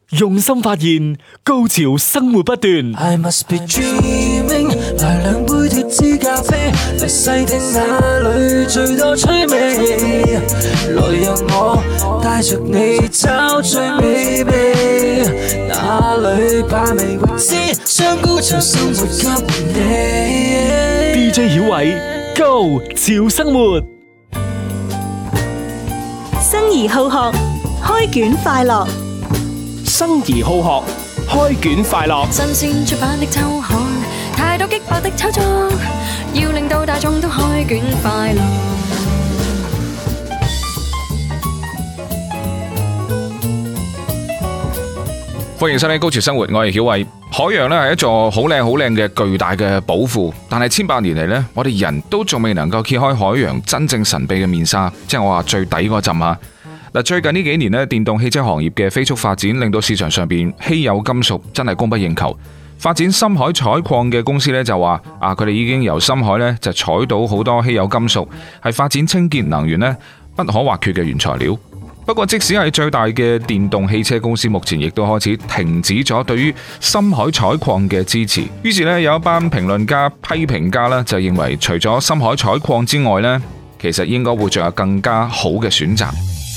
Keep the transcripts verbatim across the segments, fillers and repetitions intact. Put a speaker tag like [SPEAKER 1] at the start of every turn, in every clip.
[SPEAKER 1] 用心發現，高潮生活不斷。
[SPEAKER 2] I must be dreaming， 來兩杯脫脂咖啡，嚟細聽哪裏最多趣味。來讓我帶着你找最美味，哪裏把味未知，將高潮生活給你。
[SPEAKER 1] D J 曉偉，Go 潮生活，
[SPEAKER 3] 生而好學，開卷快樂。
[SPEAKER 1] 生而好學，開卷快樂。
[SPEAKER 4] 新鮮出版的週刊，太多激爆的炒作，要令到大眾都開卷快樂。
[SPEAKER 5] 歡迎收聽《高潮生活》，我係曉偉。海洋咧係一座好靚好靚嘅巨大嘅寶庫，但係千百年嚟呢，我哋人都仲未能夠揭開海洋真正神秘嘅面紗，即係我話最底嗰陣啊！嗱，最近呢幾年咧，電動汽車行業嘅飛速發展，令到市場上邊稀有金屬真係供不應求。發展深海採礦嘅公司咧就話啊，佢哋已經由深海咧就採到好多稀有金屬，係發展清潔能源咧不可或缺嘅原材料。不過，即使係最大嘅電動汽車公司，目前亦都開始停止咗對於深海採礦嘅支持。於是咧，有一班評論家、批評家咧就認為，除咗深海採礦之外咧，其實應該會仲有更加好嘅選擇。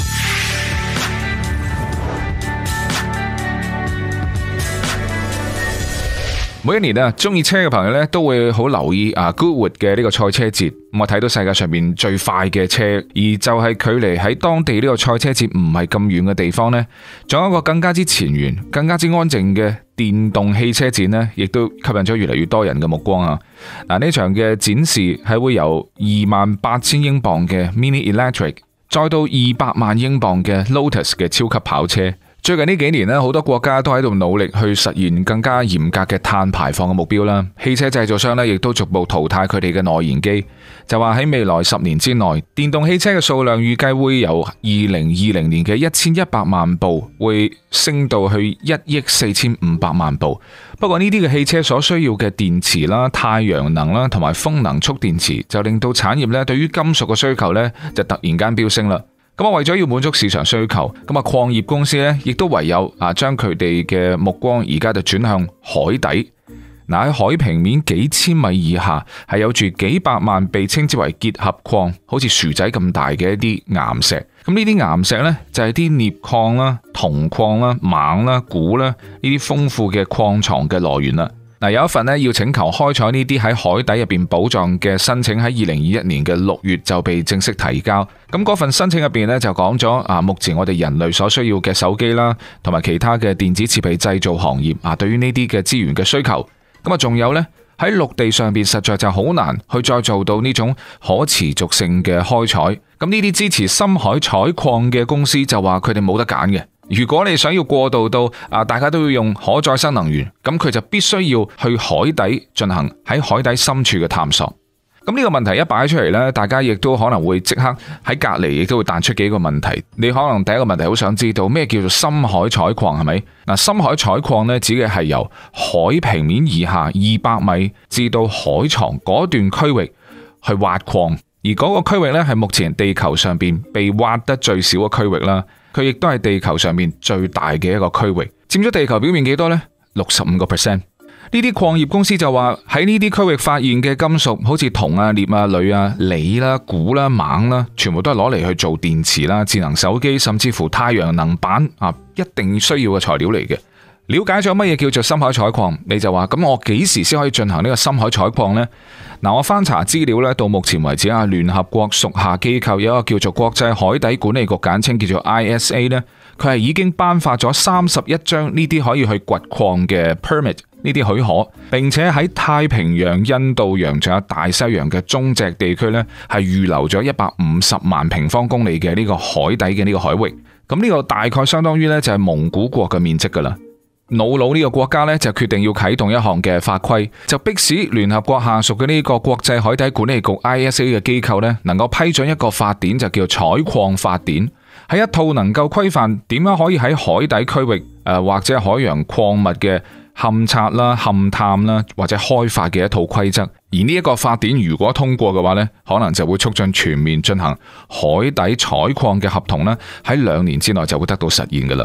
[SPEAKER 5] 每一年啊，中意車嘅朋友咧都會好留意啊 Goodwood 嘅呢個賽車節。咁我睇到世界上面最快嘅車，而就係距離喺當地呢個賽車節唔係咁遠嘅地方呢，仲有一個更加之前沿、更加之安靜嘅電動汽車展呢，亦都吸引咗越嚟越多人嘅目光啊！嗱，呢場嘅展示係會由二萬八千英鎊嘅 Mini Electric， 再到二百萬英鎊嘅 Lotus 嘅超級跑車。最近呢幾年咧，好多國家都喺度努力去實現更加嚴格嘅碳排放嘅目標啦。汽車製造商咧，亦都逐步淘汰佢哋嘅內燃機，就話喺未來十年之內，電動汽車嘅數量預計會由二零二零年嘅一千一百萬部，會升到去一億四千五百萬部。不過呢啲嘅汽車所需要嘅電池啦、太陽能啦同埋風能蓄電池，就令到產業咧對於金屬嘅需求咧就突然間飆升啦。咁啊，為咗要滿足市場需求，咁啊，礦業公司咧，亦都唯有啊，將佢哋嘅目光而家就轉向海底。嗱，喺海平面幾千米以下，係有住幾百萬被稱之為結合礦，好似薯仔咁大嘅一啲岩石。咁呢啲岩石呢，就係啲鎳礦啦、銅礦啦、錳啦、鈷啦呢啲豐富嘅礦藏嘅來源啦。嗱，有一份咧要請求開採呢啲喺海底入邊寶藏嘅申請，喺二零二一年嘅六月就被正式提交。咁嗰份申請入邊咧就講咗啊，目前我哋人類所需要嘅手機啦，同埋其他嘅電子設備製造行業啊，對於呢啲嘅資源嘅需求。咁啊，仲有呢，喺陸地上邊實在就好難去再做到呢種可持續性嘅開採。咁呢啲支持深海採礦嘅公司就話佢哋冇得揀嘅。如果你想要過渡到啊，大家都要用可再生能源，咁佢就必須要去海底進行喺海底深處嘅探索。咁呢個問題一擺出嚟呢，大家亦都可能會即刻喺隔籬亦都會彈出幾個問題。你可能第一個問題好想知道咩叫做深海採礦係咪？嗱，深海採礦呢，指嘅係由海平面以下二百米至到海床嗰段區域去挖礦，而嗰個區域呢，係目前地球上邊被挖得最少嘅區域啦。佢亦都係地球上面最大嘅一個區域，佔咗地球表面幾多呢？六十五個 percent。呢啲礦業公司就話喺呢啲區域發現嘅金屬，好似銅啊、鎳啊、鋁啊、鋰啦、鈷啦、錳啦，全部都係攞嚟去做電池啦、智能手機，甚至乎太陽能板啊，一定需要嘅材料嚟嘅。了解咗乜嘢叫做深海採礦，你就話咁我幾時先可以進行呢個深海採礦呢？嗱，我翻查資料咧，到目前為止啊，聯合國屬下機構有一個叫做國際海底管理局，簡稱叫做 I S A 咧，佢係已經頒發咗三十一張呢啲可以去掘礦嘅 permit 呢啲許可，並且喺太平洋、印度洋仲有大西洋嘅中脊地區咧，係預留咗一百五十萬平方公里嘅呢個海底嘅呢個海域。咁呢個大概相當於咧就係蒙古國嘅面積噶啦。瑙魯呢個國家呢，就決定要啟動一項嘅法規，就迫使聯合國下屬嘅呢個國際海底管理局 I S A 嘅機構呢，能夠批准一個法典，就叫採礦法典，係一套能夠規範點樣可以喺海底區域誒、呃、或者海洋礦物嘅勘察啦、勘探啦或者開發嘅一套規則。而呢一個法典如果通過嘅話呢，可能就會促進全面進行海底採礦嘅合同呢，喺兩年之內就會得到實現噶啦。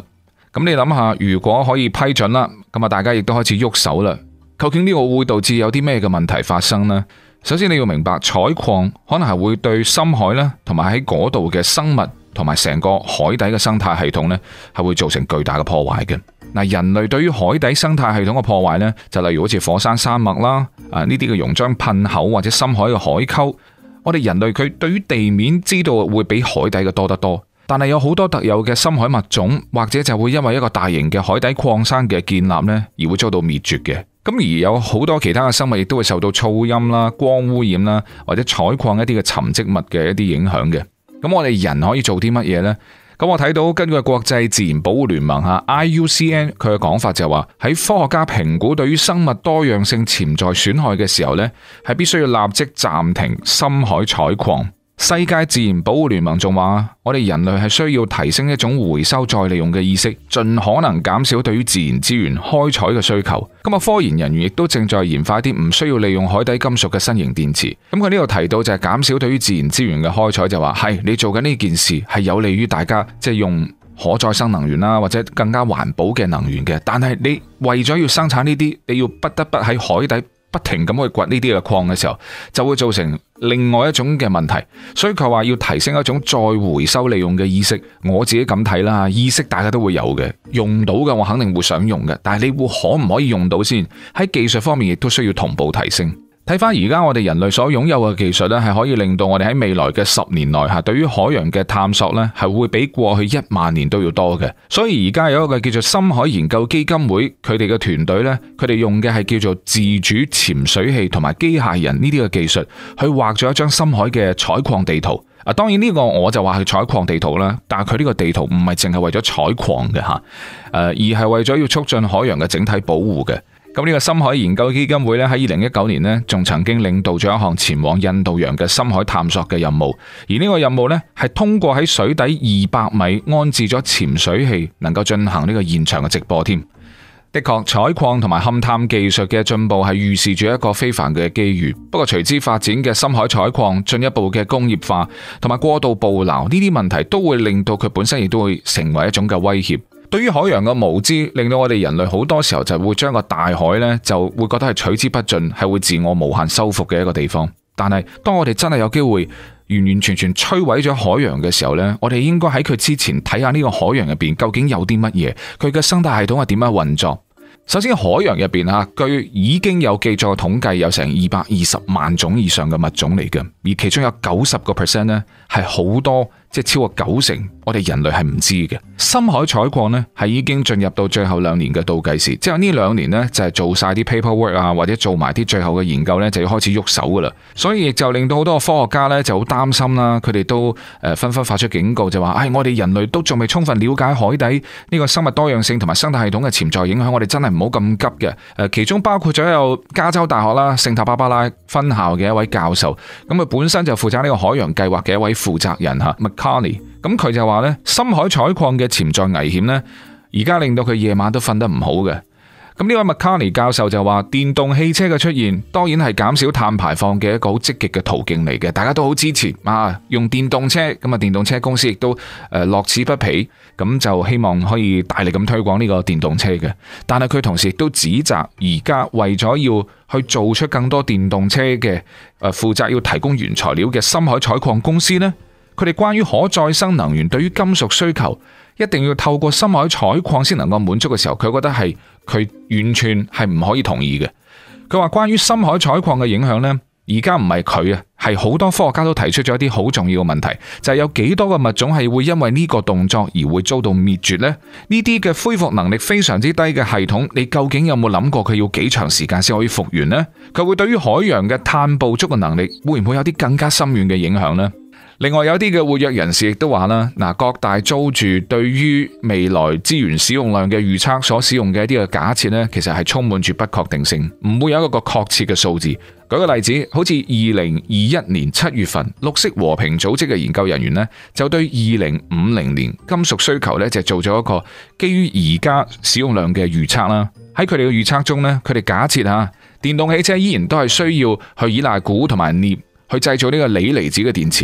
[SPEAKER 5] 咁你諗下，如果可以批准啦，咁啊大家亦都開始喐手啦。究竟呢個會導致有啲咩嘅問題發生呢？首先你要明白，採礦可能係會對深海啦，同埋喺嗰度嘅生物同埋成個海底嘅生態系統呢，係會造成巨大嘅破壞嘅。嗱，人類對於海底生態系統嘅破壞呢，就例如好似火山山脈啦，啊呢啲嘅熔漿噴口或者深海嘅海溝，我哋人類佢對於地面知道會比海底嘅多得多。但係有好多特有嘅深海物種，或者就會因為一個大型嘅海底礦山嘅建立呢，而會遭到滅絕嘅。咁而有好多其他嘅生物亦都會受到噪音啦、光污染啦，或者採礦一啲嘅沉積物嘅一啲影響嘅。咁我哋人可以做啲乜嘢呢？咁我睇到根據國際自然保護聯盟吓 I U C N 佢嘅講法就係話，喺科學家評估對於生物多樣性潛在損害嘅時候呢，係必須要立即暫停深海採礦。世界自然保護聯盟仲話，我哋人類係需要提升一種回收再利用嘅意識，盡可能減少對於自然資源開採嘅需求。咁啊，科研人員亦都正在研發一啲唔需要利用海底金屬嘅新型電池。咁佢呢度提到就係減少對於自然資源嘅開採，就話係你做緊呢件事係有利於大家，即係用可再生能源啦，或者更加環保嘅能源嘅。但係你為咗要生產呢啲，你要不得不喺海底不停咁去掘呢啲嘅礦嘅時候，就會造成另外一種嘅問題。所以佢話要提升一種再回收利用嘅意識。我自己咁睇啦，意識大家都會有嘅，用到嘅我肯定會想用嘅，但係你會可唔可以用到先？喺技術方面亦都需要同步提升。睇翻而家我哋人類所擁有嘅技術咧，係可以令到我哋喺未來嘅十年內吓，對於海洋嘅探索咧，係會比過去一萬年都要多嘅。所以而家有一個叫做深海研究基金會，佢哋嘅團隊咧，佢哋用嘅係叫做自主潛水器同埋機械人呢啲嘅技術，去畫咗一張深海嘅採礦地圖。啊，當然呢個我就話係採礦地圖啦，但係佢呢個地圖唔係淨係為咗採礦嘅吓，誒，而係為咗要促進海洋嘅整體保護嘅。咁呢個深海研究基金會咧，喺二零一九年呢，仲曾經領導咗一項前往印度洋嘅深海探索嘅任務，而呢個任務呢，係通過喺水底二百米安置咗潛水器，能夠進行呢個現場嘅直播添。的確，採礦同埋勘探技術嘅進步係預示住一個非凡嘅機遇。不過隨之發展嘅深海採礦、進一步嘅工業化同埋過度捕撈呢啲問題，都會令到佢本身亦都會成為一種嘅威脅。對於海洋嘅無知，令到我哋人類好多時候就會將個大海呢，就會覺得係取之不盡，係會自我無限修復嘅一個地方。但係當我哋真係有機會完完全全摧毀咗海洋嘅時候呢，我哋應該喺佢之前睇下呢個海洋入邊究竟有啲乜嘢，佢嘅生態系統係點樣運作。首先，海洋入邊啊，據已經有記載統計，有成二百二十萬種以上嘅物種嚟嘅，而其中有九十個 percent 呢係好多，即係超過九成，我哋人類係唔知嘅。深海採礦呢係已經進入到最後兩年嘅倒計時，即係呢兩年呢就係做晒啲 paperwork 啊，或者做埋啲最後嘅研究呢，就要開始喐手噶啦。所以亦就令到好多科學家呢就好擔心啦，佢哋都誒紛紛發出警告，就話：唉，我哋人類都仲未充分了解海底呢個生物多樣性同埋生態系統嘅潛在影響，我哋真係唔好咁急嘅。誒，其中包括咗有加州大學啦聖塔芭芭拉分校嘅一位教授，咁佢本身就負責呢個海洋計劃嘅一位負責人吓 McCarney， 咁佢就話呢，深海採礦嘅潛在危險呢，而家令到佢夜晚都瞓得唔好嘅。咁呢位 McCarney 教授就話，電動汽車嘅出現當然係減少碳排放嘅一個好積極嘅途徑嚟嘅，大家都好支持啊，用電動車。咁啊，電動車公司亦都誒樂此不疲，咁就希望可以大力咁推廣呢個電動車嘅。但係佢同時亦都指責而家為咗要去做出更多電動車嘅誒負責要提供原材料嘅深海採礦公司呢，佢哋關於可再生能源對於金屬需求一定要透過深海採礦先能夠滿足嘅時候，佢覺得係佢完全係唔可以同意嘅。佢話關於深海採礦嘅影響呢，而家唔係佢啊，係好多科學家都提出咗一啲好重要嘅問題，就係有幾多個物種係會因為呢個動作而會遭到滅絕呢？呢啲嘅恢復能力非常之低嘅系統，你究竟有冇諗過佢要幾長時間先可以復原呢？佢會對於海洋嘅碳捕捉嘅能力會唔會有啲更加深遠嘅影響呢？另外有啲嘅活躍人士亦都話啦，嗱，各大租住對於未來資源使用量嘅預測所使用嘅一啲嘅假設呢，其實係充滿住不確定性，唔會有一個確切嘅數字。舉個例子，好似二零二一年七月份，綠色和平組織嘅研究人員呢，就對二零五零年金屬需求呢，就做咗一個基於而家使用量嘅預測啦。喺佢哋嘅預測中呢，佢哋假設吓電動汽車依然都係需要去依賴鈷同埋鎳去製造呢個鋰離子嘅電池。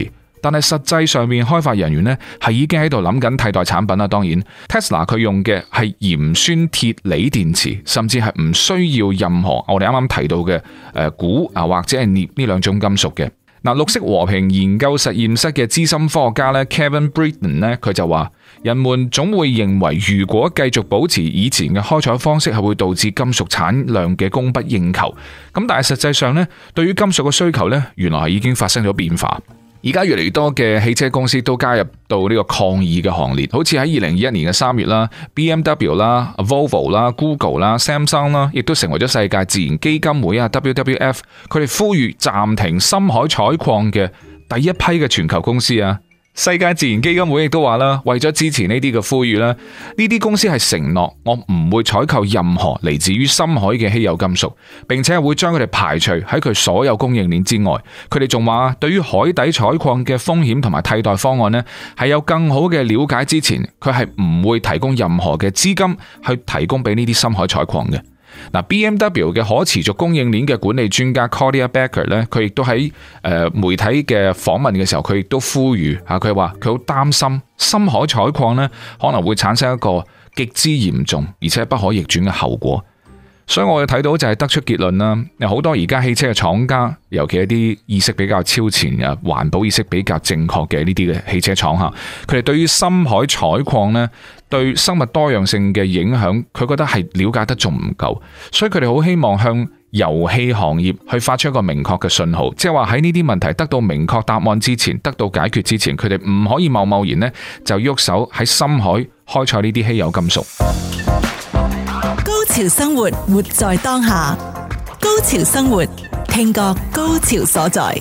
[SPEAKER 5] 但係實際上面開發人員呢係已經喺度諗緊替代產品啦。當然 Tesla 佢用嘅係鹽酸鐵鋰電池，甚至係唔需要任何我哋啱啱提到嘅誒鈷啊或者係鎳呢兩種金屬嘅。嗱，綠色和平研究實驗室嘅資深科學家咧 Kevin Britton 咧，佢就話：人們總會認為，如果繼續保持以前嘅開採方式，係會導致金屬產量嘅供不應求。咁但係實際上咧，對於金屬嘅需求咧，原來係已經發生咗變化。而家越嚟越多嘅汽車公司都加入到呢個抗議嘅行列，好似喺二零二一年嘅三月啦 ，B M W 啦、Volvo 啦、Google 啦、Samsung 啦，亦都成為咗世界自然基金會啊 W W F， 佢哋呼籲暫停深海採礦嘅第一批嘅全球公司啊。世界自然基金會亦都話啦，為咗支持呢啲嘅呼籲啦，呢啲公司係承諾我唔會採購任何嚟自於深海嘅稀有金屬，並且係會將佢哋排除喺佢所有供應鏈之外。佢哋仲話，對於海底採礦嘅風險同埋替代方案呢，係有更好嘅了解之前，佢係唔會提供任何嘅資金去提供俾呢啲深海採礦嘅。嗱 ，B M W 嘅可持續供應鏈嘅管理專家 Claudia Becker 咧，佢亦都喺誒媒體嘅訪問嘅時候，佢亦都呼籲嚇，佢話佢好擔心深海採礦咧可能會產生一個極之嚴重而且不可逆轉嘅後果。所以我哋睇到就係得出結論啦，有好多而家汽車嘅廠家，尤其一啲意識比較超前嘅環保意識比較正確嘅呢啲嘅汽車廠嚇，佢哋對於深海採礦呢，對生物多樣性嘅影響，佢覺得係了解得仲唔夠，所以佢哋好希望向油氣行業去發出一個明確嘅信號，即係話喺呢啲問題得到明確答案之前，得到解決之前，佢哋唔可以貿貿然呢就喐手喺深海開採呢啲稀有金屬。
[SPEAKER 3] 高潮生活，活在當下。高潮生活，聽覺高潮所在。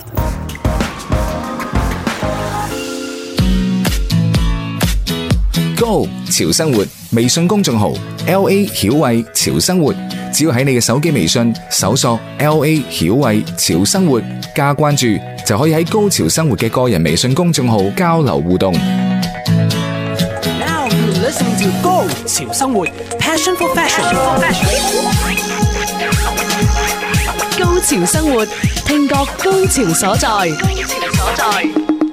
[SPEAKER 6] Go 潮生活微信公眾號 L A 曉慧潮生活，只要喺你嘅手機微信搜索 L A 曉慧潮生活加關注，就可以喺高潮生活嘅個人微信公眾號交流互動。
[SPEAKER 1] Now you listening to Go 潮生活 Passion for Fashion。
[SPEAKER 3] 高潮生活，聽覺高潮所在。高潮所在。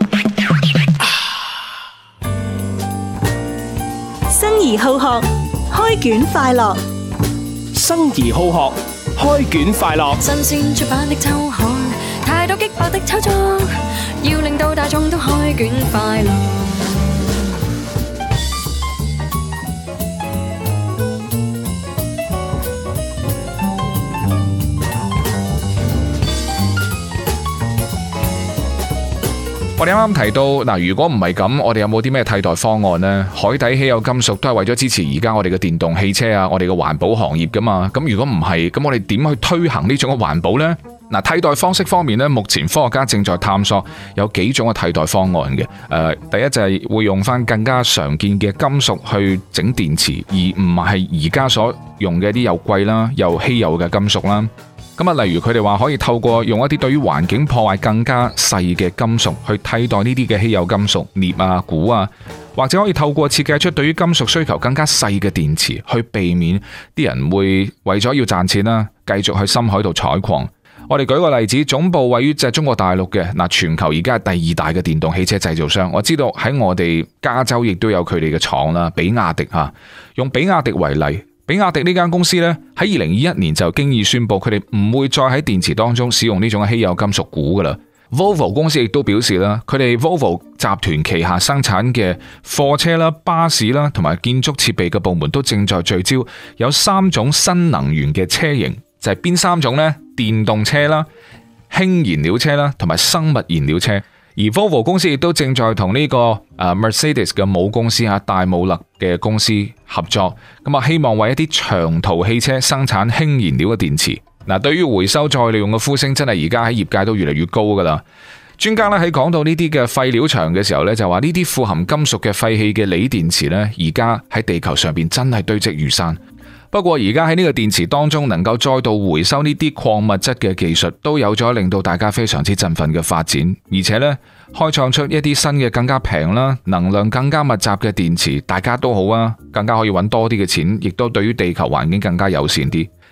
[SPEAKER 3] 生而好學，開卷快樂。
[SPEAKER 1] 生而好學，開卷快樂。
[SPEAKER 4] 新鮮出版的週刊，太多激爆的炒作，要令到大眾都開卷快樂。
[SPEAKER 5] 我哋啱啱提到嗱，如果唔係咁，我哋有冇啲咩替代方案呢？海底稀有金屬都係為咗支持而家我哋嘅電動汽車啊，我哋嘅環保行業噶嘛。咁如果唔係，咁我哋點去推行呢種嘅環保呢？嗱，替代方式方面呢，目前科學家正在探索有幾種嘅替代方案嘅。誒、呃，第一就係會用翻更加常見嘅金屬去整電池，而唔係而家所用嘅一啲又貴啦又稀有嘅金屬啦。咁啊，例如佢哋話可以透過用一啲對於環境破壞更加細嘅金屬去替代呢啲嘅稀有金屬，鎳啊、鈷啊，或者可以透過設計出對於金屬需求更加細嘅電池，去避免啲人會為咗要賺錢啦，繼續去深海度採礦。我哋舉個例子，總部位於即係中國大陸嘅嗱，全球而家係第二大嘅電動汽車製造商。我知道喺我哋加州亦都有佢哋嘅廠啦，比亞迪嚇。用比亞迪為例。比亞迪呢間公司呢，喺二零二一年就經已宣布佢哋唔會再喺電池當中使用呢種稀有金屬鈷噶啦。Volvo 公司亦都表示啦，佢哋 Volvo 集團旗下生產嘅貨車啦、巴士啦同埋建築設備嘅部門都正在聚焦有三種新能源嘅車型，就係邊三種呢？電動車啦、氫燃料車啦同埋生物燃料車。而 Volvo 公司亦都正在同呢個誒 Mercedes 嘅母公司啊戴姆勒嘅公司合作，咁啊希望為一啲長途汽車生產氫燃料嘅電池。嗱，對於回收再利用嘅呼聲，真係而家喺業界都越嚟越高噶啦。專家咧喺講到呢啲嘅廢料場嘅時候咧，就話呢啲富含金屬嘅廢棄嘅鋰電池咧，而家喺地球上邊真係堆積如山。不過而家喺呢個電池當中能夠再度回收呢啲礦物質嘅技術，都有咗令到大家非常之振奮嘅發展，而且呢，開創出一啲新嘅更加平啦、能量更加密集嘅電池，大家都好啊，更加可以揾多啲嘅錢，亦都對於地球環境更加友善啲。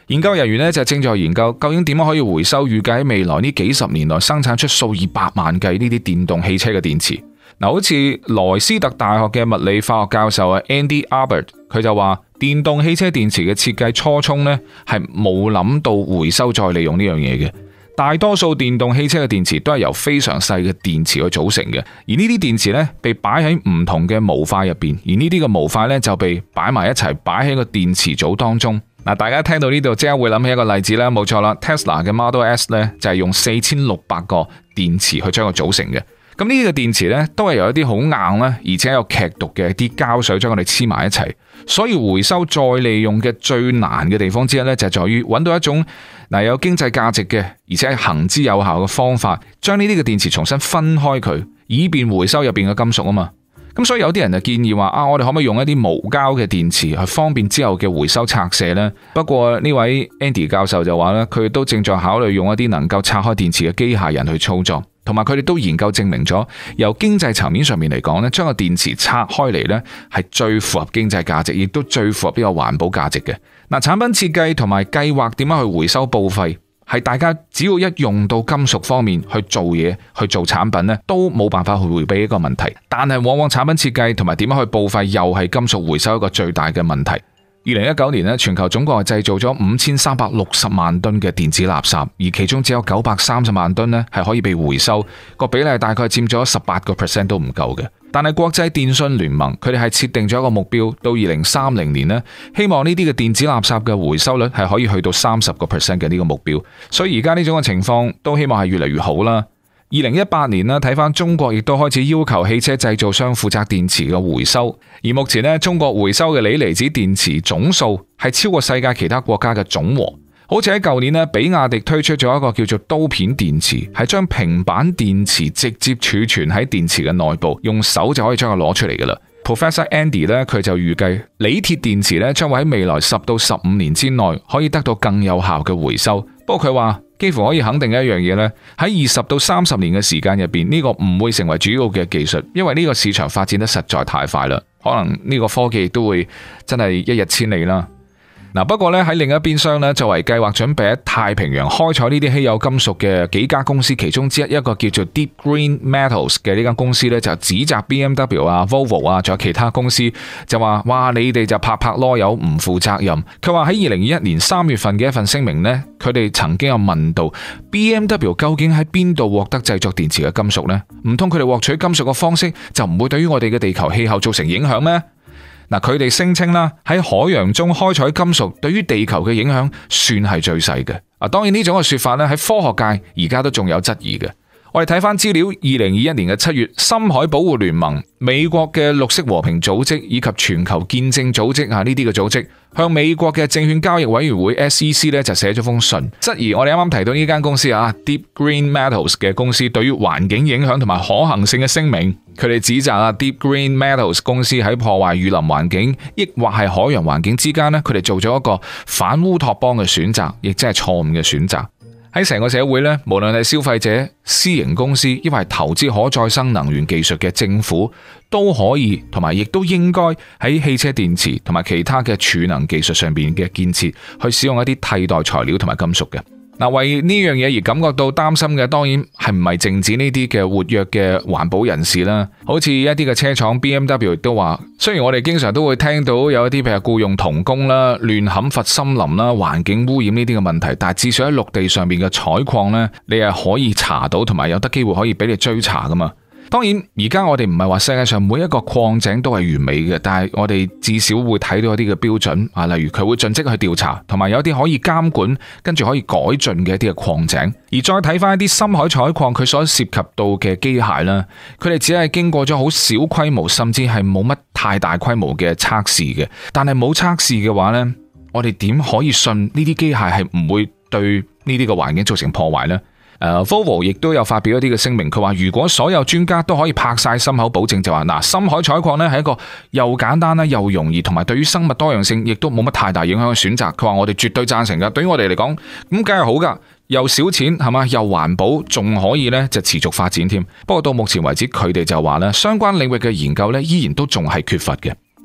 [SPEAKER 5] 研究人員呢就正在研究究竟點樣可以回收預計喺未來呢幾十年內生產出數以百萬計呢啲電動汽車嘅電池。嗱，好似萊斯特大學嘅物理化學教授啊 Andy Albert， 佢就話電動汽車電池嘅設計初衷呢係冇諗到回收再利用呢樣嘢嘅。大多數電動汽車嘅電池都係由非常細嘅電池去組成嘅，而呢啲電池呢被擺喺唔同嘅模塊入邊，而呢啲嘅模塊呢就被擺埋一齊擺喺個電池組當中。嗱，大家聽到呢度即刻會諗起一個例子啦，冇錯啦 ，Tesla 嘅 Model S 呢就係用四千六百個電池去將佢組成嘅。咁呢啲嘅電池呢都係由一啲好硬咧，而且有劇毒嘅啲膠水將佢哋黐埋一齊。所以回收再利用嘅最難嘅地方之一呢，就係在於揾到一種嗱有經濟價值嘅，而且係行之有效嘅方法，將呢啲嘅電池重新分開佢，以便回收入邊嘅金屬啊嘛。咁所以有啲人就建議話啊，我哋可唔可以用一啲無膠嘅電池去方便之後嘅回收拆卸呢？不過呢位 Andy 教授就話咧，佢都正在考慮用一啲能夠拆開電池嘅機械人去操作。同埋佢哋都研究證明咗，由經濟層面上面嚟講咧，將個電池拆開嚟咧係最符合經濟價值，亦都最符合呢個環保價值嘅。嗱，產品設計同埋計劃點樣去回收報廢，係大家只要一用到金屬方面去做嘢、去做產品咧，都冇辦法去迴避一個問題。但係往往產品設計同埋點樣去報廢，又係金屬回收一個最大嘅問題。二零一九年咧，全球總共係製造咗五千三百六十萬噸嘅電子垃圾，而其中只有九百三十萬噸咧係可以被回收，個比例大概佔咗十八個 percent 都唔夠嘅。但係國際電信聯盟佢哋係設定咗一個目標，到二零三零年咧，希望呢啲嘅電子垃圾嘅回收率係可以去到三十個 percent 嘅呢個目標。所以而家呢種嘅情況都希望係越嚟越好啦。二零一八年呢，睇翻中國亦都開始要求汽車製造商負責電池嘅回收，而目前呢，中國回收嘅鋰離子電池總數係超過世界其他國家嘅總和。好似喺舊年呢，比亞迪推出咗一個叫做刀片電池，係將平板電池直接儲存喺電池嘅內部，用手就可以將佢攞出嚟噶啦。Professor Andy 呢，佢就預計鋰鐵電池呢將會喺未來十到十五年之內可以得到更有效嘅回收。不過佢話，幾乎可以肯定一樣嘢呢，喺二十到三十年嘅時間入邊，呢個唔會成為主要嘅技術，因為呢個市場發展得實在太快啦，可能呢個科技亦都會真係一日千里啦。嗱，不過咧喺另一邊廂咧，作為計劃準備喺太平洋開採呢啲稀有金屬嘅幾家公司其中之一，一個叫做 Deep Green Metals 嘅呢間公司咧，就指責 B M W 啊、Volvo 啊，仲有其他公司就話：哇，你哋就拍拍籮柚唔負責任。佢話喺二零二一年三月份嘅一份聲明呢，佢哋曾經有問到 B M W 究竟喺邊度獲得製作電池嘅金屬呢？唔通佢哋獲取金屬嘅方式就唔會對於我哋嘅地球氣候造成影響咩？嗱，佢哋聲稱啦，喺海洋中開採金屬對於地球嘅影響算係最細嘅。啊，當然呢種嘅說法咧喺科學界而家都仲有質疑嘅。我哋睇翻資料，二零二一年嘅七月，深海保護聯盟、美國嘅綠色和平組織以及全球見證組織啊，呢啲嘅組織向美國嘅證券交易委員會 S E C 咧就寫咗封信，質疑我哋啱啱提到呢間公司啊 Deep Green Metals 嘅公司對於環境影響同埋可行性嘅聲明。佢哋指責啊 Deep Green Metals 公司喺破壞雨林環境，抑或係海洋環境之間呢，佢哋做咗一個反烏托邦嘅選擇，亦即係錯誤嘅選擇。喺成個社會咧，無論係消費者、私營公司，抑或係投資可再生能源技術嘅政府，都可以同埋亦都應該喺汽車電池同埋其他嘅儲能技術上邊嘅建設，去使用一啲替代材料同埋金屬嘅。嗱，為呢樣嘢而感覺到擔心嘅，當然係唔係淨止呢啲嘅活躍嘅環保人士啦。好似一啲嘅車廠 B M W 亦都話，雖然我哋經常都會聽到有一啲譬如僱用童工啦、亂砍伐森林啦、環境污染呢啲嘅問題，但係至少喺陸地上面嘅採礦呢，你係可以查到，同埋有得機會可以俾你追查噶嘛。當然，而家我哋唔係話世界上每一個礦井都係完美嘅，但係我哋至少會睇到一啲嘅標準啊，例如佢會盡職去調查，同埋有啲可以監管，跟住可以改進嘅一啲嘅礦井。而再睇翻一啲深海採礦，佢所涉及到嘅機械啦，佢哋只係經過咗好小規模，甚至係冇乜太大規模嘅測試嘅。但係冇測試嘅話呢，我哋點可以信呢啲機械係唔會對呢啲嘅環境造成破壞呢？Uh, Volvo 亦都有發表一啲嘅聲明，佢話如果所有專家都可以拍晒心口保證，就話嗱，深海採礦呢係一個又簡單啦又容易，同埋對於生物多樣性亦都冇乜太大影響嘅選擇。佢話我哋絕對贊成噶，對於我哋嚟講咁梗係好噶，又少錢係嘛，又環保，仲可以呢就持續發展添。不過到目前為止，佢哋就話呢相關領域嘅研究呢依然都仲係缺乏嘅。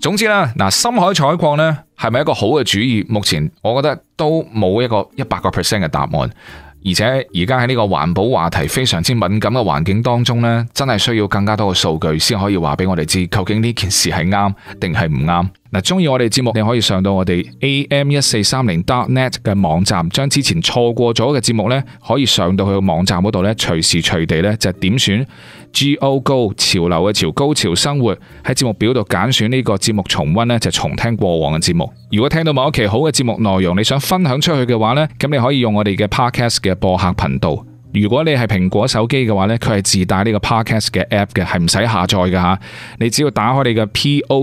[SPEAKER 5] 總之啦，嗱，深海採礦呢係咪一個好嘅主意？目前我覺得都冇一個一百個 percent 嘅答案，而且而家喺呢個環保話題非常之敏感嘅環境當中呢，真係需要更加多嘅數據先可以話俾我哋知，究竟呢件事係啱定係唔啱。嗱，中意我哋節目，你可以上到我哋 A M 一四三零 dot net 嘅網站，將之前錯過咗嘅節目呢，可以上到去個網站嗰度呢，隨時隨地呢就點選 G O Go 潮流嘅潮高潮生活，喺節目表度揀選呢個節目重溫呢，就重聽過往嘅節目。如果聽到某一期好嘅節目內容，你想分享出去嘅話呢，咁你可以用我哋嘅 Podcast 嘅播客頻道。如果你係蘋果手機嘅話呢，佢係自帶呢個 Podcast 嘅 app 嘅，係唔使下載嘅吓。你只要打開你嘅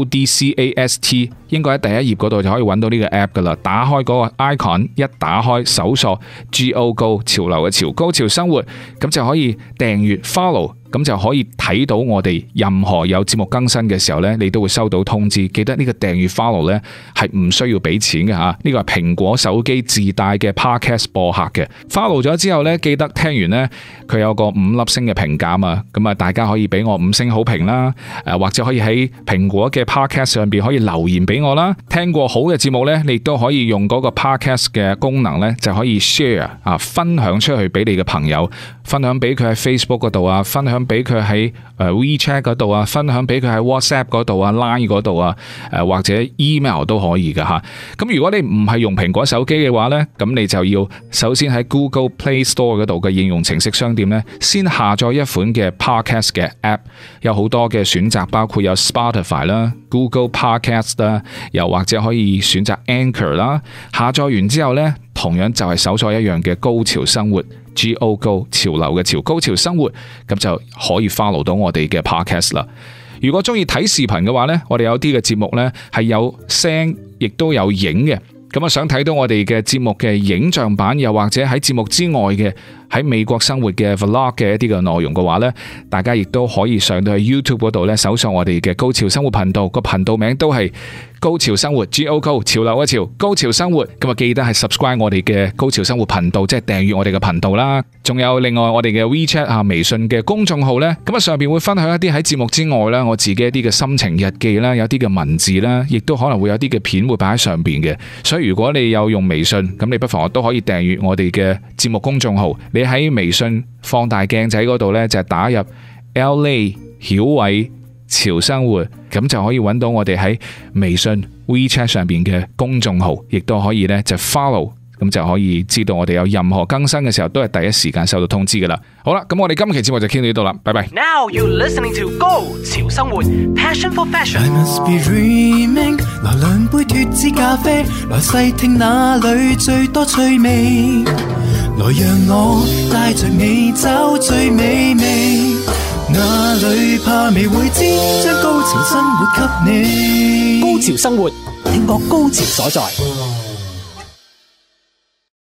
[SPEAKER 5] Podcast， 應該喺第一頁嗰度就可以揾到呢個 app 噶啦。打開嗰個 icon， 一打開搜索 G O Go 潮流嘅潮高潮生活，咁就可以訂閱 follow。咁就可以睇到我哋任何有節目更新嘅時候呢，你都會收到通知。記得呢個訂閱 follow 呢係唔需要俾錢嘅吓，呢個係蘋果手機自帶嘅 podcast 播客嘅。follow 咗之後呢，記得聽完呢，佢有個五粒星嘅評價啊，咁啊大家可以俾我五星好評啦，誒或者可以喺蘋果嘅 podcast 上邊可以留言俾我啦。聽過好嘅節目呢，你都可以用嗰個 podcast 嘅功能呢，就可以 share 啊，分享出去俾你嘅朋友，分享俾佢喺 Facebook 嗰度啊，分享俾佢喺誒 WeChat 嗰度啊，分享俾佢喺 WhatsApp 嗰度啊、Line 嗰度啊，誒或者 email 都可以噶吓。咁如果你唔係用蘋果手機嘅話呢，咁你就要首先喺 Google Play Store 嗰度嘅應用程式商店呢，先下載一款嘅 Podcast 嘅 App， 有好多嘅選擇，包括有 Spotify 啦、Google Podcast 啦，又或者可以選擇 Anchor 啦。下載完之後呢，同樣就係搜索一樣嘅高潮生活。G O Go 潮流嘅潮高潮生活，咁就可以 follow 到我哋嘅 podcast 啦。如果中意睇視頻嘅話呢，我哋有啲嘅節目呢係有聲亦都有影嘅。咁啊，想睇到我哋嘅節目嘅影像版，又或者喺節目之外嘅喺美國生活嘅 vlog 嘅一啲嘅內容嘅話呢，大家亦都可以上到去 YouTube 嗰度呢，搜索我哋嘅高潮生活頻道，個頻道名都係高潮生活 G O Go 潮流嘅潮高潮生活。咁啊，記得係 subscribe 我哋嘅高潮生活頻道，即係訂閱我哋嘅頻道啦。仲有另外我哋嘅 WeChat 啊，微信嘅公眾號呢，咁啊上邊會分享一啲喺節目之外啦，我自己一啲嘅心情日記啦，有啲嘅文字啦，亦都可能會有啲嘅片會擺喺上邊嘅。所以如果你有用微信，咁你不妨都可以訂閱我哋嘅節目公眾號。你喺微信放大鏡仔嗰度呢，就係打入 L A 曉偉潮生活，咁就可以揾到我哋喺微信 WeChat 上邊嘅公眾號，亦都可以呢就 follow，咁就可以知道我哋有任何更新嘅時候都係第一時間收到通知噶啦。好啦，咁我哋今期節目就傾到呢度啦，拜拜。
[SPEAKER 1] Now you listening to 高潮生活 Passion for Fashion。
[SPEAKER 2] I must be dreaming， 來兩杯脫脂咖啡，來細聽哪裏最多趣味，來讓我帶着你找最美味，哪裏怕未會知，將高潮生活給你。
[SPEAKER 1] 高潮生活，聽覺高潮所在。